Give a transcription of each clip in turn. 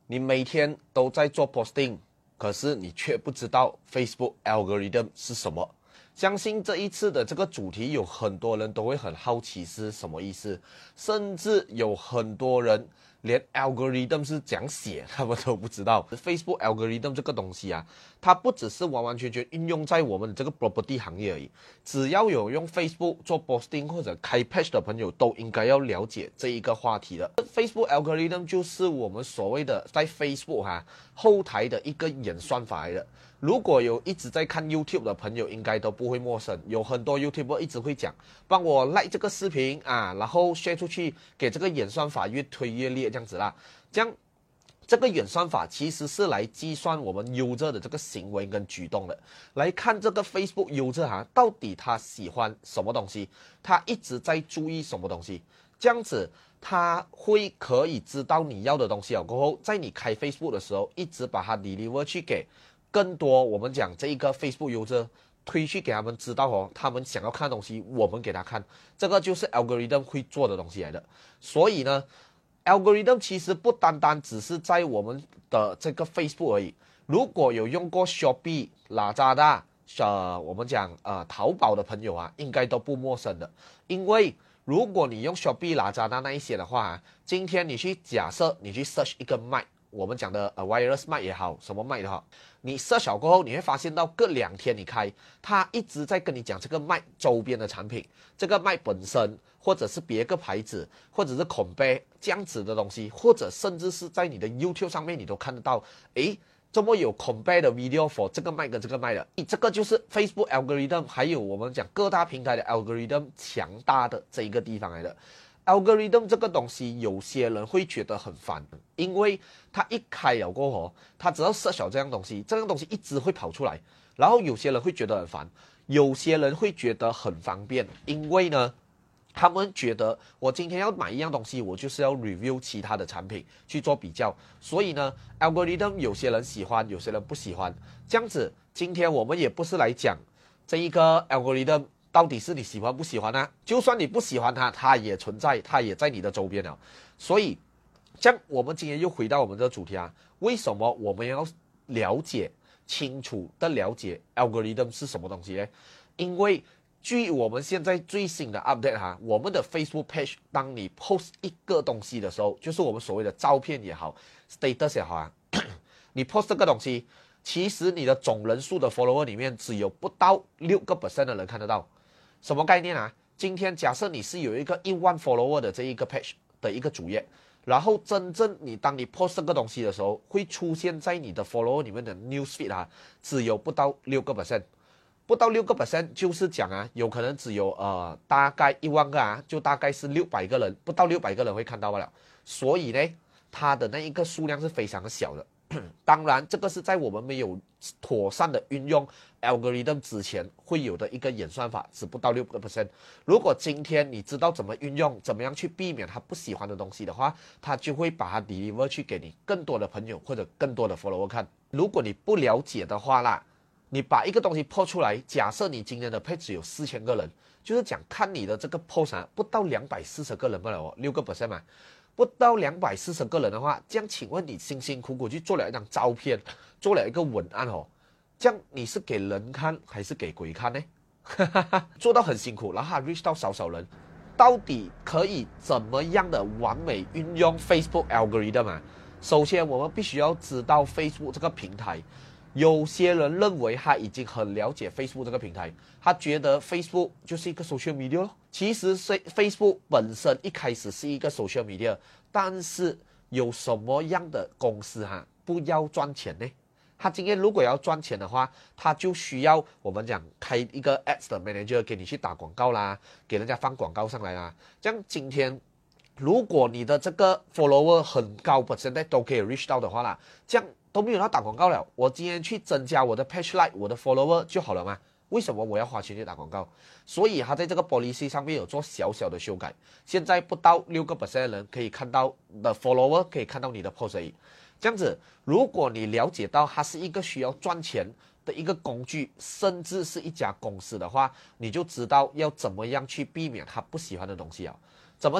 你每天都在做 posting， 可是你却不知道 Facebook algorithm 是什么。相信这一次的这个主题有很多人都会很好奇是什么意思，甚至有很多人连 algorithm 是怎样写他们都不知道。Facebook algorithm 这个东西啊，它不只是完完全全运用在我们这个 property 行业而已，只要有用 Facebook 做 posting 或者开 page 的朋友都应该要了解这一个话题的。Facebook algorithm 就是我们所谓的在 Facebook 后台的一个演算法来的。如果有一直在看 YouTube 的朋友，应该都不会陌生。有很多 YouTuber 一直会讲，帮我 like 这个视频啊，然后 share 出去，给这个演算法越推越烈这样子啦。这样，这个演算法其实是来计算我们 user 的这个行为跟举动的，来看这个 Facebook user 到底他喜欢什么东西，他一直在注意什么东西，这样子。他会可以知道你要的东西了过后，在你开 Facebook 的时候，一直把它 deliver 去给更多我们讲这一个 Facebook user 推去给他们知道他们想要看的东西，我们给他看，这个就是 algorithm 会做的东西来的。所以呢 ，algorithm 其实不单单只是在我们的这个 Facebook 而已。如果有用过 Shopee、Lazada，我们讲淘宝的朋友啊，应该都不陌生的，因为如果你用 Shopee、Lazada 那一些的话，今天你去假设你去 search 一个麦，我们讲的wireless 麦也好，什么麦也好，你 search 过后，你会发现到隔2天你开，它一直在跟你讲这个麦周边的产品，这个麦本身，或者是别个牌子，或者是compare这样子的东西，或者甚至是在你的 YouTube 上面你都看得到，诶。这么有 compare 的 video for 这个麦跟这个麦的，这个就是 Facebook algorithm， 还有我们讲各大平台的 algorithm 强大的这一个地方来的。algorithm 这个东西，有些人会觉得很烦，因为他一开了过后，他只要 search 这样东西，这样东西一直会跑出来，然后有些人会觉得很烦，有些人会觉得很方便，因为呢。他们觉得我今天要买一样东西，我就是要 review 其他的产品去做比较，所以呢 algorithm 有些人喜欢，有些人不喜欢，这样子今天我们也不是来讲这一个 algorithm 到底是你喜欢不喜欢啊，就算你不喜欢它，它也存在，它也在你的周边了。所以这样我们今天又回到我们的主题啊，为什么我们要了解清楚的了解 algorithm 是什么东西呢？因为据我们现在最新的 update 我们的 Facebook page， 当你 post 一个东西的时候，就是我们所谓的照片也好 status 也好你 post 这个东西，其实你的总人数的 follower 里面只有不到6% 的人看得到。什么概念啊？今天假设你是有一个1万 follower 的这一个 page 的一个主页，然后真正当你 post 这个东西的时候，会出现在你的 follower 里面的 newsfeed 只有不到6%。不到6%，就是讲有可能只有大概1万个就大概是600个人，不到600个人会看到了。所以呢，它的那一个数量是非常的小的。当然，这个是在我们没有妥善的运用 algorithm 之前会有的一个演算法，只不到6%。如果今天你知道怎么运用，怎么样去避免他不喜欢的东西的话，他就会把它 deliver 去给你更多的朋友或者更多的 follower 看。如果你不了解的话啦，你把一个东西 post 出来，假设你今天的 page 有4000个人，就是讲看你的这个 post 不到240个人罢了6% 嘛，不到240个人的话，这样请问你辛辛苦苦去做了一张照片，做了一个文案这样你是给人看还是给鬼看呢？做到很辛苦，然后还 reach 到少人，到底可以怎么样的完美运用 Facebook algorithm 首先我们必须要知道 Facebook 这个平台。有些人认为他已经很了解 Facebook 这个平台，他觉得 Facebook 就是一个 social media 其实 Facebook 本身一开始是一个 social media， 但是有什么样的公司不要赚钱呢？他今天如果要赚钱的话，他就需要我们讲开一个 ads 的 manager 给你去打广告啦，给人家放广告上来啦。这样今天如果你的这个 follower 很高，现在都可以 reach 到的话啦，这样都没有要打广告了，我今天去增加我的 page like 我的 follower 就好了嘛？为什么我要花钱去打广告？所以他在这个 policy 上面有做小小的修改，现在不到6% 的人可以看到的 follower 可以看到你的 post 而已。这样子，如果你了解到它是一个需要赚钱的一个工具，甚至是一家公司的话，你就知道要怎么样去避免他不喜欢的东西啊。怎么讲？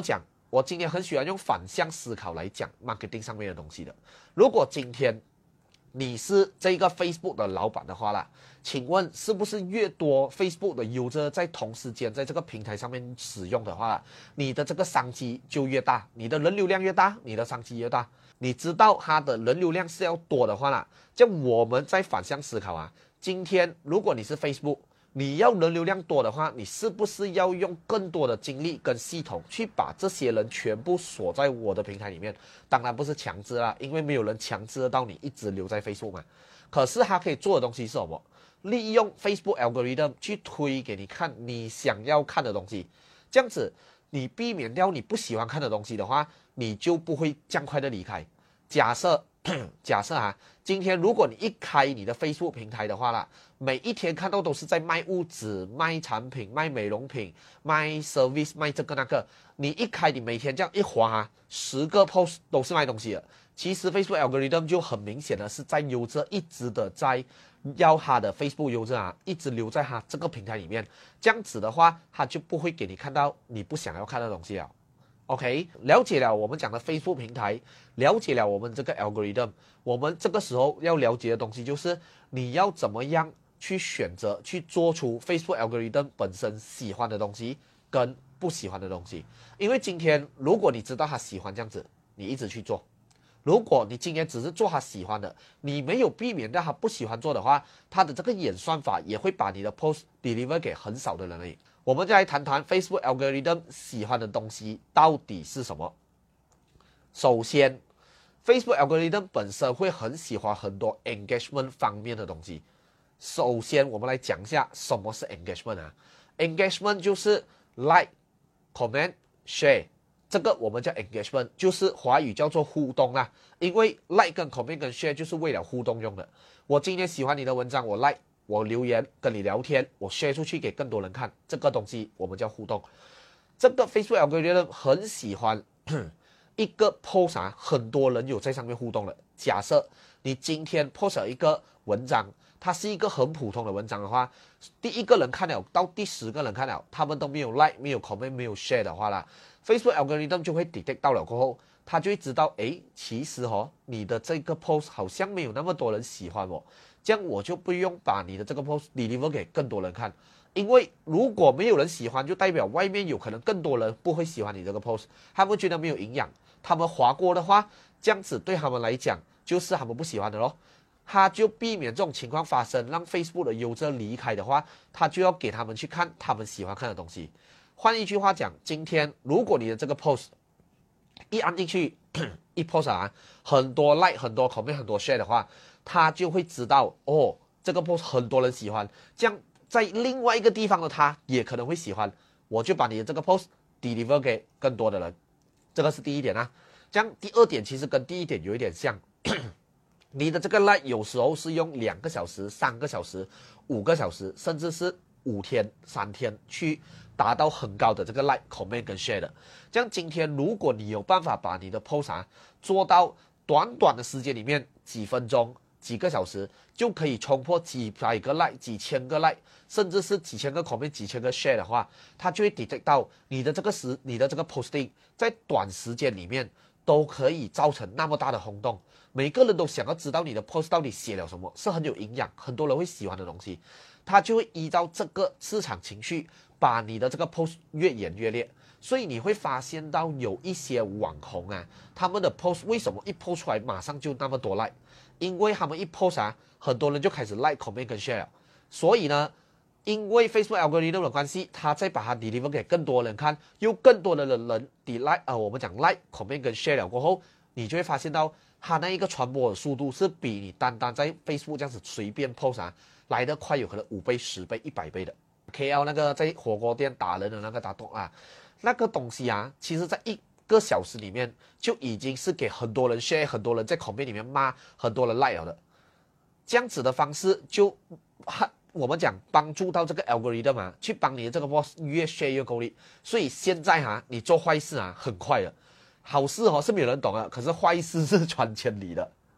我今天很喜欢用反向思考来讲 marketing 上面的东西的。如果今天你是这个 Facebook 的老板的话啦，请问是不是越多 Facebook 的 user 在同时间在这个平台上面使用的话，你的这个商机就越大，你的人流量越大，你的商机越大。你知道它的人流量是要多的话啦，就我们在反向思考啊，今天如果你是 Facebook，你要人流量多的话，你是不是要用更多的精力跟系统去把这些人全部锁在我的平台里面？当然不是强制啦，因为没有人强制得到你一直留在 Facebook 嘛。可是他可以做的东西是什么？利用 Facebook algorithm 去推给你看你想要看的东西，这样子你避免掉你不喜欢看的东西的话，你就不会这样快的离开。假设今天如果你一开你的 Facebook 平台的话啦，每一天看到都是在卖物质、卖产品、卖美容品、卖 service、卖这个那个，你一开你每天这样一滑10个 post 都是卖东西的。其实 Facebook algorithm 就很明显的是在user一直的在要他的 Facebook user 一直留在他这个平台里面，这样子的话，他就不会给你看到你不想要看的东西了。OK， 了解了我们讲的 Facebook 平台，了解了我们这个 algorithm， 我们这个时候要了解的东西就是你要怎么样去选择去做出 Facebook algorithm 本身喜欢的东西跟不喜欢的东西。因为今天如果你知道他喜欢这样子，你一直去做；如果你今天只是做他喜欢的，你没有避免掉他不喜欢做的话，他的这个演算法也会把你的 post deliver 给很少的人而已。我们再来谈谈 Facebook algorithm 喜欢的东西到底是什么。首先 Facebook algorithm 本身会很喜欢很多 engagement 方面的东西。首先我们来讲一下什么是 engagement 啊。 engagement 就是 like comment share， 这个我们叫 engagement， 就是华语叫做互动啦。因为 like 跟 comment 跟 share 就是为了互动用的。我今天喜欢你的文章，我 like，我留言跟你聊天，我 share 出去给更多人看，这个东西我们叫互动。这个 Facebook algorithm 很喜欢一个 post 很多人有在上面互动了。假设你今天 post 了一个文章，它是一个很普通的文章的话，第一个人看了到第10个人看了，他们都没有 like 没有 comment 没有 share 的话啦， Facebook algorithm 就会 detect 到了过后，他就会知道其实你的这个 post 好像没有那么多人喜欢我，这样我就不用把你的这个 post deliver 给更多人看。因为如果没有人喜欢，就代表外面有可能更多人不会喜欢你这个 post， 他们觉得没有营养，他们划过的话，这样子对他们来讲就是他们不喜欢的咯。他就避免这种情况发生，让 Facebook 的user离开的话，他就要给他们去看他们喜欢看的东西。换一句话讲，今天如果你的这个 post 一按进去一 post 很多 like 很多 comment 很多 share 的话，他就会知道这个 post 很多人喜欢，这样在另外一个地方的他也可能会喜欢，我就把你的这个 post deliver 给更多的人。这个是第一点啊。这样第二点其实跟第一点有一点像你的这个 like 有时候是用2个小时、3个小时、5个小时，甚至是5天、3天去达到很高的这个 like comment 跟 share 的。这样今天如果你有办法把你的 post 做到短短的时间里面几分钟几个小时就可以冲破几百个 like 几千个 like， 甚至是几千个 comment 几千个 share 的话，它就会 detect 到你的这个posting 在短时间里面都可以造成那么大的轰动。每个人都想要知道你的 post 到底写了什么，是很有营养很多人会喜欢的东西，他就会依照这个市场情绪把你的这个 post 越演越烈。所以你会发现到有一些网红他们的 post 为什么一 post 出来马上就那么多 like， 因为他们一 post 很多人就开始 like comment 跟 share 了。所以呢，因为 Facebook algorithm 的关系，他再把它 deliver 给更多人看，又更多的人我们讲 like comment 跟 share 了过后，你就会发现到它那一个传播的速度是比你单单在 Facebook 这样子随便 post 来得快，有可能5倍、10倍、100倍的。KL 那个在火锅店打人的那个打洞那个东西其实在1个小时里面就已经是给很多人 share， 很多人在 comment 里面骂，很多人 like 了的。这样子的方式就我们讲帮助到这个 algorithm 去帮你的这个 post 越 share 越够力。所以现在你做坏事很快的，好事是没有人懂的，可是坏事是传千里的。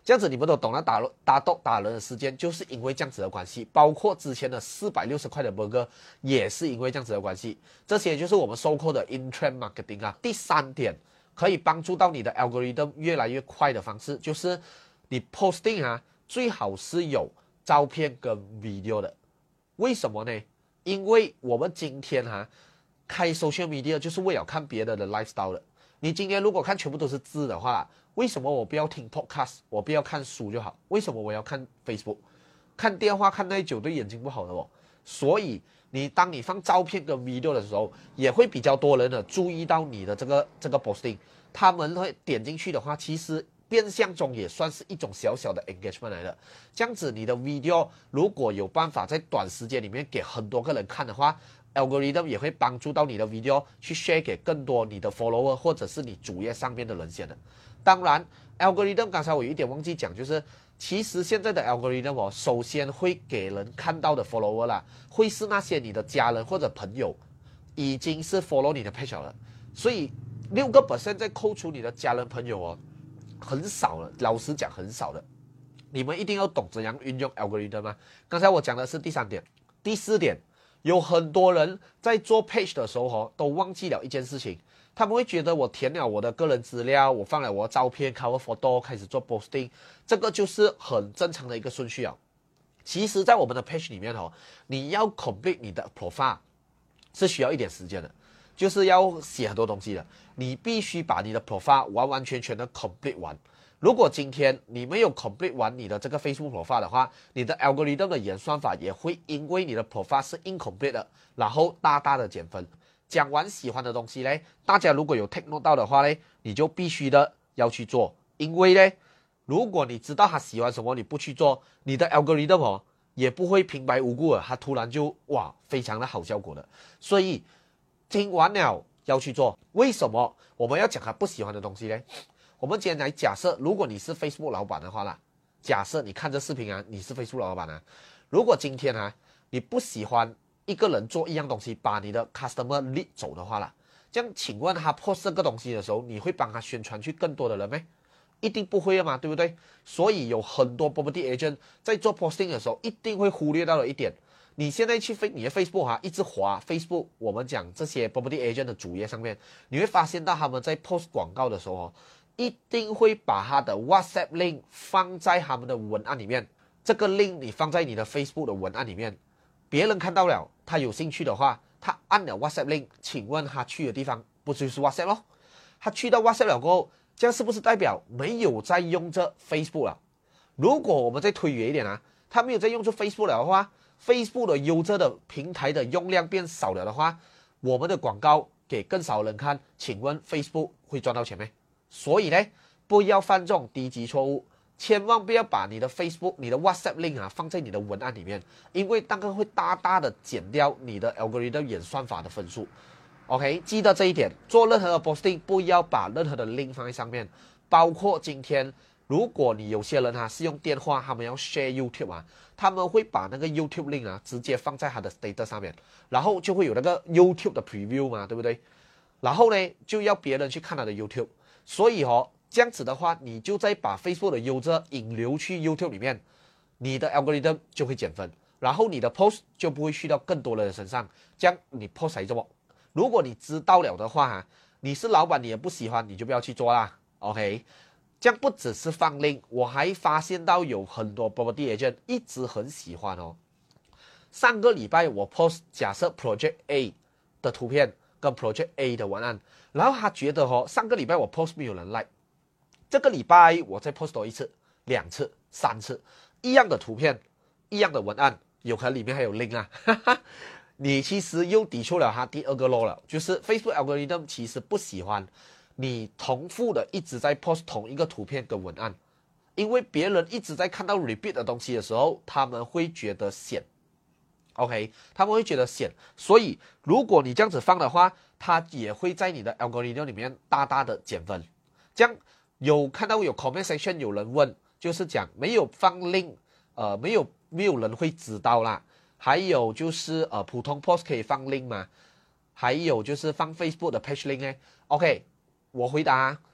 这样子你们都懂了，打人的时间就是因为这样子的关系，包括之前的460块的 burger 也是因为这样子的关系。这些就是我们收购的 in-trend marketing 啊。第3点可以帮助到你的 algorithm 越来越快的方式，就是你 posting 啊，最好是有照片跟 video 的。为什么呢？因为我们今天开 social media 就是为了看别人的 lifestyle 的。你今天如果看全部都是字的话，为什么我不要听 podcast， 我不要看书就好？为什么我要看 Facebook？ 看电话看太久对眼睛不好的哦。所以当你放照片跟 video 的时候，也会比较多人的注意到你的这个 posting， 他们会点进去的话，其实变相中也算是一种小小的 engagement 来的。这样子你的 video 如果有办法在短时间里面给很多个人看的话， algorithm 也会帮助到你的 video 去 share 给更多你的 follower 或者是你主页上面的人先的。当然 algorithm 刚才我有一点忘记讲，就是其实现在的 algorithm 首先会给人看到的 follower 啦，会是那些你的家人或者朋友已经是 follow 你的 page 了，所以6% 再扣除你的家人朋友很少了，老实讲很少的。你们一定要懂怎样运用 algorithm 吗？刚才我讲的是第3点。第4点，有很多人在做 page 的时候都忘记了一件事情，他们会觉得我填了我的个人资料，我放了我的照片 cover photo 开始做 posting， 这个就是很正常的一个顺序啊。其实在我们的 page 里面你要 complete 你的 profile 是需要一点时间的，就是要写很多东西的，你必须把你的 profile 完完全全的 complete 完。如果今天你没有 complete 完你的这个 Facebook profile 的话，你的 algorithm 的演算法也会因为你的 profile 是 incomplete 的，然后大大的减分。讲完喜欢的东西呢，大家如果有 take note 到的话呢，你就必须的要去做，因为呢，如果你知道他喜欢什么，你不去做，你的 algorithm也不会平白无故的，他突然就非常的好效果的。所以听完了要去做。为什么我们要讲他不喜欢的东西呢？我们今天来假设，如果你是 Facebook 老板的话啦，假设你看这视频你是 Facebook 老板如果今天你不喜欢一个人做一样东西，把你的 customer lead 走的话啦，这样请问他 post 这个东西的时候，你会帮他宣传去更多的人吗？一定不会嘛，对不对？所以有很多 property agent 在做 posting 的时候，一定会忽略到了一点。你现在去你的 Facebook 一直滑 Facebook， 我们讲这些 property agent 的主页上面，你会发现到他们在 post 广告的时候一定会把他的 WhatsApp link 放在他们的文案里面。这个 link 你放在你的 Facebook 的文案里面，别人看到了，他有兴趣的话，他按了 WhatsApp link， 请问他去的地方不就是 WhatsApp 咯？他去到 WhatsApp 了过后，这样是不是代表没有在用这 Facebook 了？如果我们再推远一点他没有在用这 Facebook 了的话， Facebook 的user的平台的用量变少了的话，我们的广告给更少人看，请问 Facebook 会赚到钱吗？所以呢，不要犯这种低级错误，千万不要把你的 Facebook、你的 WhatsApp link 放在你的文案里面，因为那个会大大的减掉你的 algorithm 演算法的分数。OK， 记得这一点，做任何的 posting 不要把任何的 link 放在上面，包括今天如果你有些人是用电话，他们要 share YouTube 他们会把那个 YouTube link 直接放在他的 status 上面，然后就会有那个 YouTube 的 preview 嘛，对不对？然后呢，就要别人去看他的 YouTube。所以这样子的话，你就在把 Facebook 的 user 引流去 YouTube 里面，你的 algorithm 就会减分，然后你的 post 就不会去到更多人的身上，这样你 post 还怎么？如果你知道了的话你是老板你也不喜欢，你就不要去做啦。 OK， 这样不只是放 link， 我还发现到有很多 property agent 一直很喜欢上个礼拜我 post 假设 project A 的图片跟 project A 的文案，然后他觉得上个礼拜我 post 没有人 like， 这个礼拜我再 post 多一次、2次、3次，一样的图片，一样的文案，有可能里面还有 link 你其实又抵触了他第2个 law 了，就是 Facebook algorithm 其实不喜欢你重复的一直在 post 同一个图片跟文案，因为别人一直在看到 repeat 的东西的时候，他们会觉得闲。OK， 他们会觉得闲，所以如果你这样子放的话，它也会在你的 algorithm 里面大大的减分。这样有看到有 comment section 有人问，就是讲没有放 link， 没有人会知道啦。还有就是普通 post 可以放 link 吗？还有就是放 Facebook 的 page link 呢？ OK， 我回答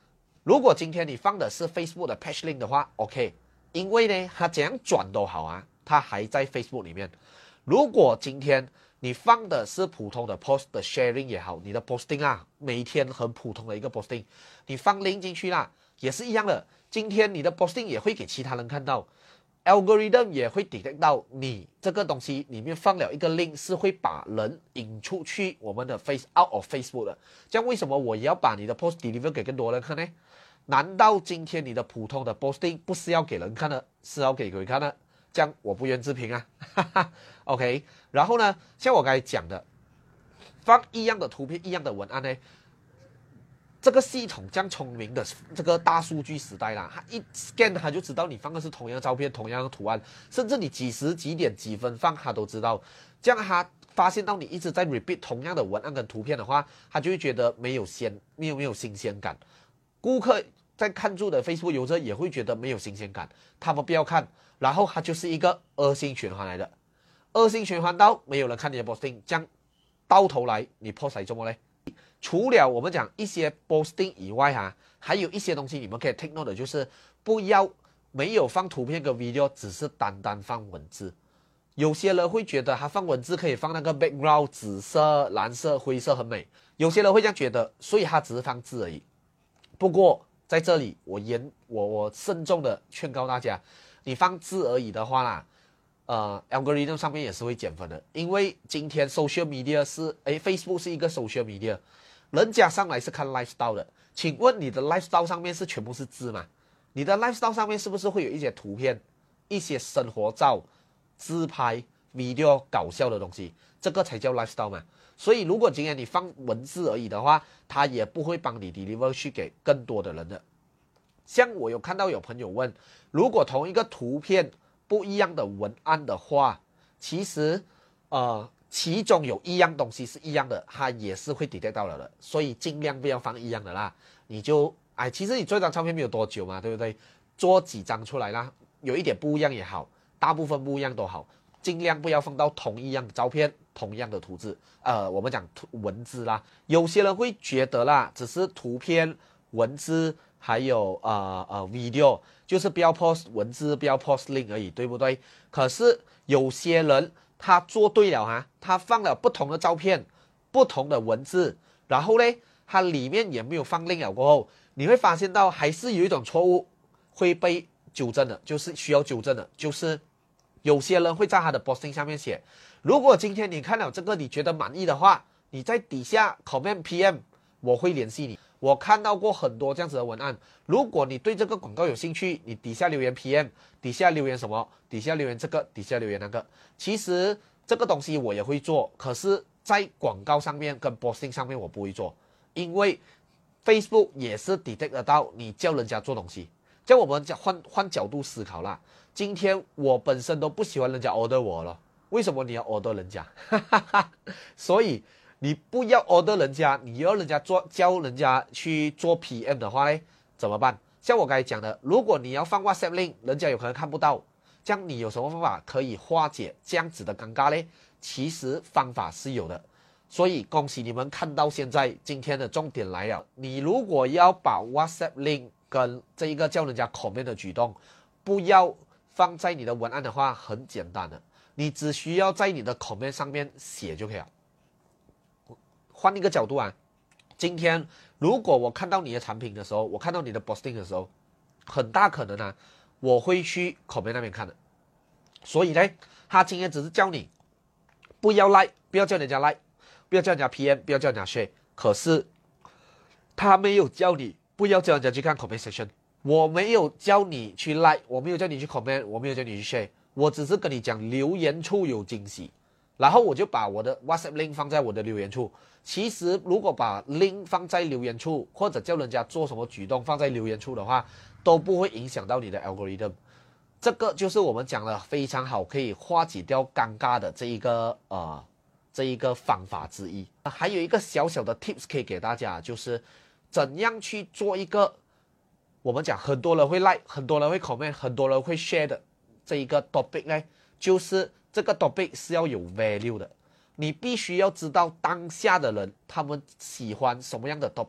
如果今天你放的是 Facebook 的 Page Link 的话 ，OK， 因为呢，它怎样转都好啊，它还在 Facebook 里面。如果今天你放的是普通的 post 的 sharing 也好，你的 posting 啊，每一天很普通的一个 posting， 你放 link 进去啦，也是一样的。今天你的 posting 也会给其他人看到 ，algorithm 也会 detect 到你这个东西里面放了一个 link， 是会把人引出去我们的 out of Facebook 的。这样为什么我也要把你的 post deliver 给更多人看呢？难道今天你的普通的 posting 不是要给人看的，是要给鬼看的？这样我不愿置评啊，哈哈 ，OK。然后呢，像我刚才讲的，放一样的图片、一样的文案呢，这个系统这样聪明的这个大数据时代啦，它一 scan 它就知道你放的是同样的照片、同样的图案，甚至你几时几点几分放它都知道。这样它发现到你一直在 repeat 同样的文案跟图片的话，它就会觉得没有新鲜感。顾客在看住的 Facebook 用者也会觉得没有新鲜感，他们不要看，然后它就是一个恶性循环来的。恶性循环到没有人看你的 posting， 这样到头来你 post 来做么嘞？除了我们讲一些 posting 以外还有一些东西你们可以 take note 的，就是不要没有放图片跟 video， 只是单单放文字。有些人会觉得他放文字可以放那个 background 紫色、蓝色、灰色很美，有些人会这样觉得，所以他只是放字而已。不过在这里我慎重的劝告大家，你放字而已的话啦，algorithm 上面也是会减分的，因为今天 social media 是Facebook 是一个 social media， 人家上来是看 lifestyle 的，请问你的 lifestyle 上面是全部是字吗？你的 lifestyle 上面是不是会有一些图片、一些生活照、自拍、video 搞笑的东西？这个才叫 lifestyle 嘛。所以如果今天你放文字而已的话，它也不会帮你 deliver 去给更多的人的。像我有看到有朋友问，如果同一个图片不一样的文案的话，其实其中有一样东西是一样的，它也是会 detect 到了的，所以尽量不要放一样的啦。你就其实你做一张照片没有多久嘛，对不对？做几张出来啦，有一点不一样也好，大部分不一样都好，尽量不要放到同一样的照片、同样的图字。我们讲文字啦，有些人会觉得啦，只是图片、文字还有video， 就是不要 post 文字，不要 post link 而已，对不对？可是有些人他做对了他放了不同的照片、不同的文字，然后呢，他里面也没有放 link 了过后，你会发现到还是有一种错误会被纠正的，就是需要纠正的，就是有些人会在他的 posting 下面写，如果今天你看了这个你觉得满意的话，你在底下 comment PM， 我会联系你。我看到过很多这样子的文案，如果你对这个广告有兴趣，你底下留言 PM， 底下留言什么，底下留言这个，底下留言那个。其实这个东西我也会做，可是在广告上面跟 posting 上面我不会做，因为 Facebook 也是 detect 得到你叫人家做东西。这样我们换角度思考啦，今天我本身都不喜欢人家 order 我了，为什么你要 order 人家？所以你不要 order 人家，你要人家教人家去做 PM 的话呢，怎么办？像我刚才讲的，如果你要放 WhatsApp link， 人家有可能看不到，这样你有什么方法可以化解这样子的尴尬呢？其实方法是有的，所以恭喜你们看到现在，今天的重点来了，你如果要把 WhatsApp link 跟这一个叫人家 comment 的举动，不要放在你的文案的话，很简单的，你只需要在你的 comment 上面写就可以了。换一个角度今天如果我看到你的产品的时候，我看到你的 posting 的时候，很大可能我会去 comment 那边看的。所以呢，他今天只是叫你不要 like， 不要叫人家 like， 不要叫人家 PM， 不要叫人家 share， 可是他没有叫你不要叫人家去看 comment section， 我没有叫你去 like， 我没有叫你去 comment， 我没有叫你去 share， 我只是跟你讲留言处有惊喜，然后我就把我的 WhatsApp link 放在我的留言处。其实如果把 link 放在留言处，或者叫人家做什么举动放在留言处的话，都不会影响到你的 algorithm。这个就是我们讲的非常好，可以化解掉尴尬的这一个方法之一。还有一个小小的 tips 可以给大家，就是怎样去做一个我们讲很多人会 like， 很多人会 comment， 很多人会 share 的这一个 topic 呢，就是这个 topic 是要有 value 的。你必须要知道当下的人他们喜欢什么样的 topic，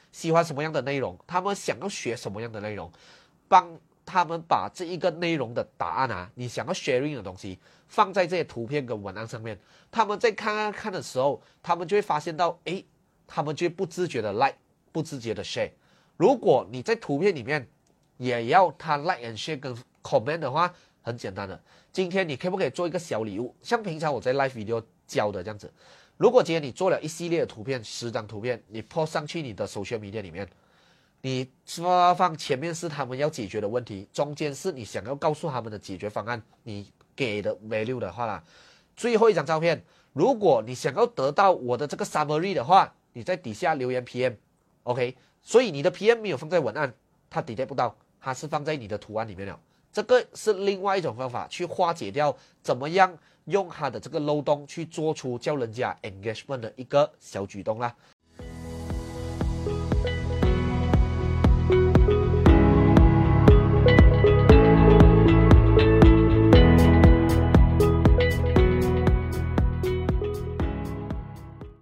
喜欢什么样的内容，他们想要学什么样的内容，帮他们把这一个内容的答案啊，你想要 sharing 的东西放在这些图片跟文案上面，他们在看的时候，他们就会发现到，诶，他们就会不自觉的 like， 不自觉的 share。如果你在图片里面也要他 like and share 跟 comment 的话，很简单的，今天你可不可以做一个小礼物，像平常我在 live video 教的这样子。如果今天你做了一系列的图片，10张图片，你 post 上去你的 social media 里面，你放前面是他们要解决的问题，中间是你想要告诉他们的解决方案，你给的 value 的话啦，最后一张照片，如果你想要得到我的这个 summary 的话，你在底下留言 PM，OK，所以你的 PM 没有放在文案，它 detect 不到，它是放在你的图案里面了。这个是另外一种方法去化解掉怎么样用它的这个漏洞去做出叫人家 engagement 的一个小举动啦。